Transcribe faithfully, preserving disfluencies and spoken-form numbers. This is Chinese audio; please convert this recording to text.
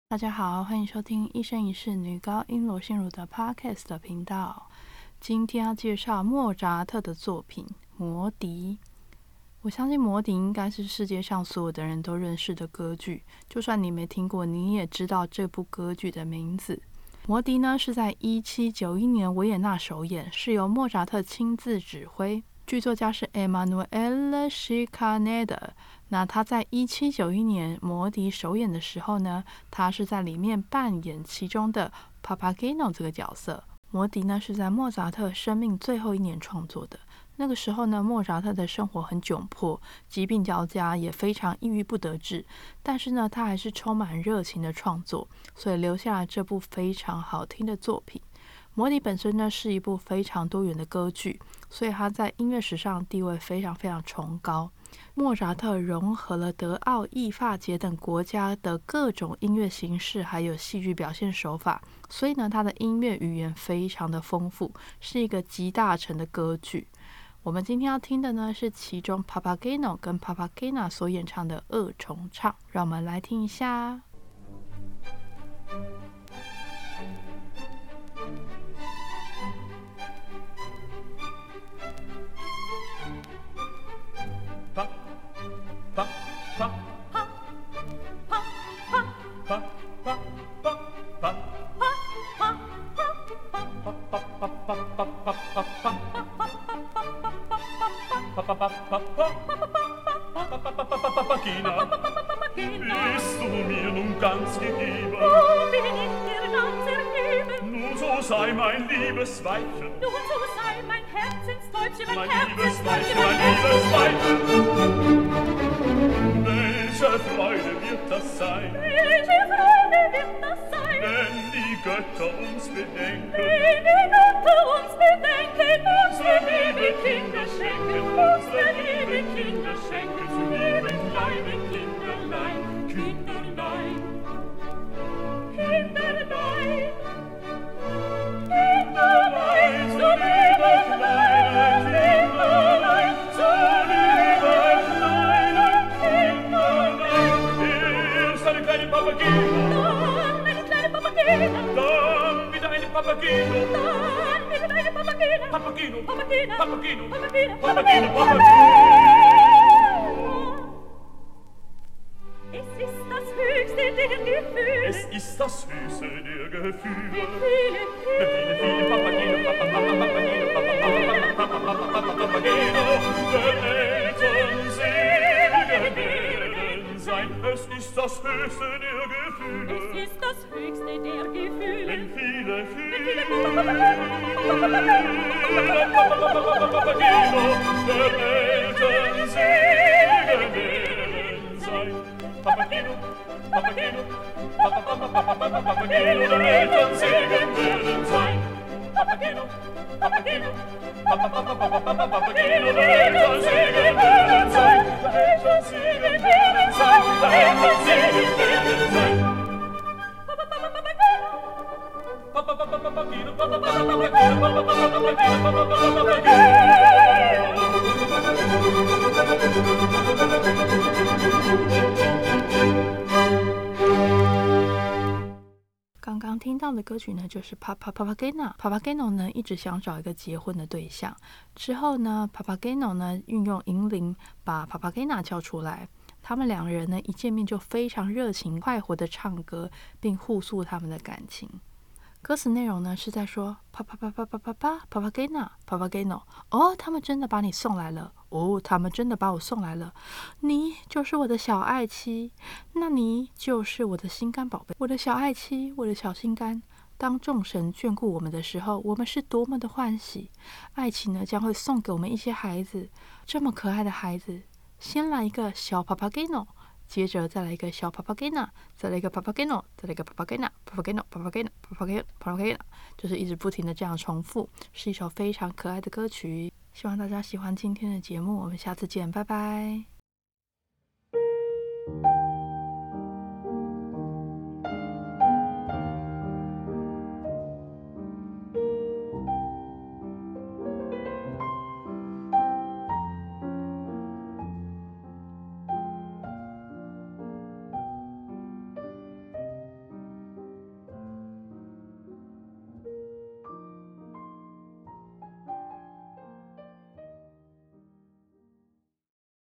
大家好，欢迎收听一生一世女高音罗心如的 Podcast 的频道。今天要介绍莫扎特的作品《魔笛》。我相信《魔笛》应该是世界上所有的人都认识的歌剧，就算你没听过，你也知道这部歌剧的名字。《魔笛》呢是在一七九一年维也纳首演，是由莫扎特亲自指挥，剧作家是 Emanuele Scicaneda。那他在一七九一年魔笛首演的时候呢，他是在里面扮演其中的 Papageno 这个角色。魔笛呢是在莫扎特生命最后一年创作的。那个时候呢，莫扎特的生活很窘迫，疾病交加，也非常抑郁不得志。但是呢，他还是充满热情的创作，所以留下了这部非常好听的作品。魔笛本身呢是一部非常多元的歌剧，所以它在音乐史上地位非常非常崇高。莫扎特融合了德奥意法捷等国家的各种音乐形式还有戏剧表现手法，所以呢他的音乐语言非常的丰富，是一个集大成的歌剧。我们今天要听的呢是其中 Papageno 跟 Papagena 所演唱的二重唱，让我们来听一下。 Papagena, bist du mir nun ganz gegeben? Oh, bin ich dir ganz ergeben? Nun so sei mein liebes Weibchen, Nun so sei mein Herzenstäubchen, mein, mein liebes Herzenstäubchen, Weibchen, mein liebes Weibchen. Welche Freude wird das sein? Welche Freude wird das sein? Wenn die Götter uns bedenken, Wenn die Götter uns bedenken, unsere liebe Kinder schenken, unsere liebe Kinder schenken zu ihrem Leibe, Kinderlein, Kinderlein, Kinderlein, Kinderlein, so liebe kleine Kinderlein, so liebe kleine Kinderlein. Erst eine kleine Papageno, dann eine kleine Papagena, dann wieder eine Papageno, dann wieder eine Papagena, Papageno, Papagena, Papageno, Papagena, Papageno, Papagena, Papageno. Es ist das höchste der Gefühle. Es ist das Höchste der Gefühle. Gefühle, Viele, viele Papageno, Papa, Papa, Papageno, Papa, Papa, Papa, Papa, Papa, Papageno. Der Eltern Segen werden sein. Es ist das Höchste der Gefühle. Es ist das höchste der Gefühle. Wenn viele, viele Papageno, der Eltern Segen werden sein. Papageno, Papageno, Papa, Papa, Papa, Papa, Papageno, der Eltern Segen werden sein. Papageno, Papageno, Papa, Papa, Papa, Papa, Papageno, der Eltern Segen werden sein. Der Eltern Segen werden sein. Der Eltern Segen werden sein. Papa, Papa, Papageno, Papa, Papa, Papageno, Papa, Papa, Papageno, Papa, Papa, Papageno, Papa, Papa, Papageno. 刚刚听到的歌曲呢，就是 Papa Papagena。Papageno 呢一直想找一个结婚的对象，之后呢 Papageno 呢运用银铃把 Papagena 叫出来，他们两个人呢一见面就非常热情快活的唱歌，并互诉他们的感情。歌词内容呢是在说 Papa Papa Papa Papa Papagena Papageno， 哦，他们真的把你送来了，哦，他们真的把我送来了，你就是我的小爱妻，那你就是我的心肝宝贝，我的小爱妻，我的小心肝。当众神眷顾我们的时候，我们是多么的欢喜。爱情呢将会送给我们一些孩子，这么可爱的孩子，先来一个小 Papageno，接着再来一个小 Papagena， 再来一个 Papageno， 再来一个 Papagena，Papageno，Papageno，Papageno，Papagena， 就是一直不停的这样重复，是一首非常可爱的歌曲。希望大家喜欢今天的节目，我们下次见，拜拜。